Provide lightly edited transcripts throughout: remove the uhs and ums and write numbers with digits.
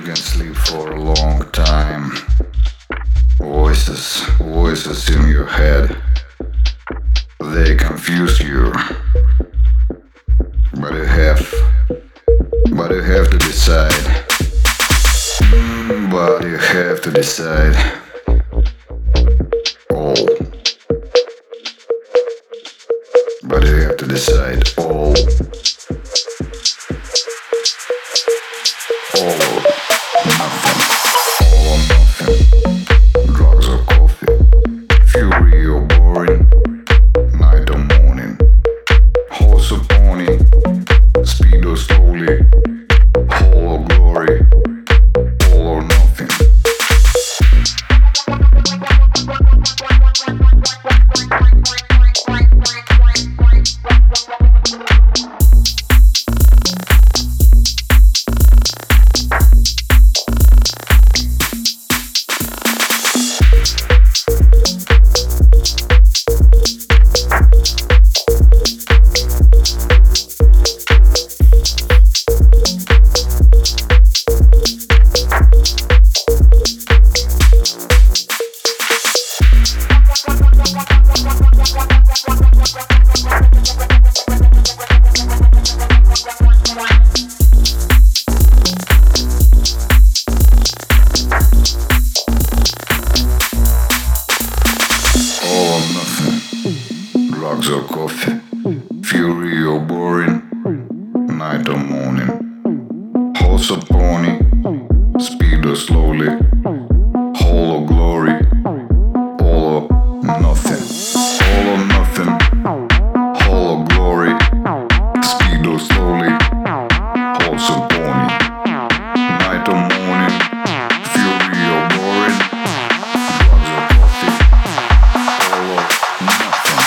can sleep for a long time. Voices in your head. They confuse you. But you have to decide. But you have to decide. All. But you have to decide all. All or nothing. All or nothing. Drugs or coffee. Fury or boring. Night or morning. Horse or pony. Speed or slowly. All or glory. All or nothing. Drugs or coffee, fury or boring, night or morning, horse or pony, speed or slowly, whole or glory, all or nothing, all or nothing, whole or glory, speed or slowly, horse or pony, night or morning, fury or boring, drugs or coffee, all or nothing.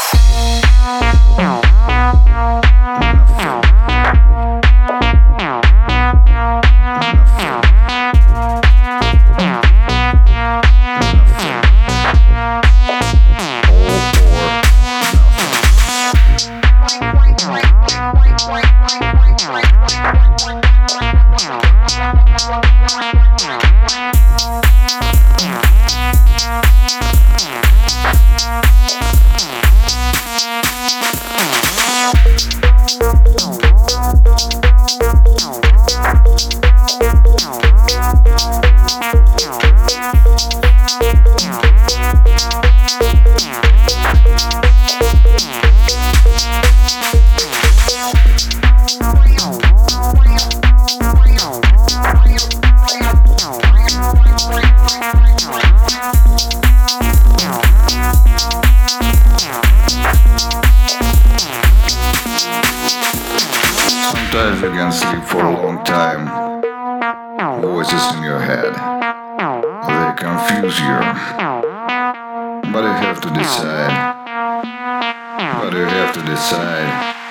Sometimes you can sleep for a long time. Voices in your head. They confuse you. But you have to decide.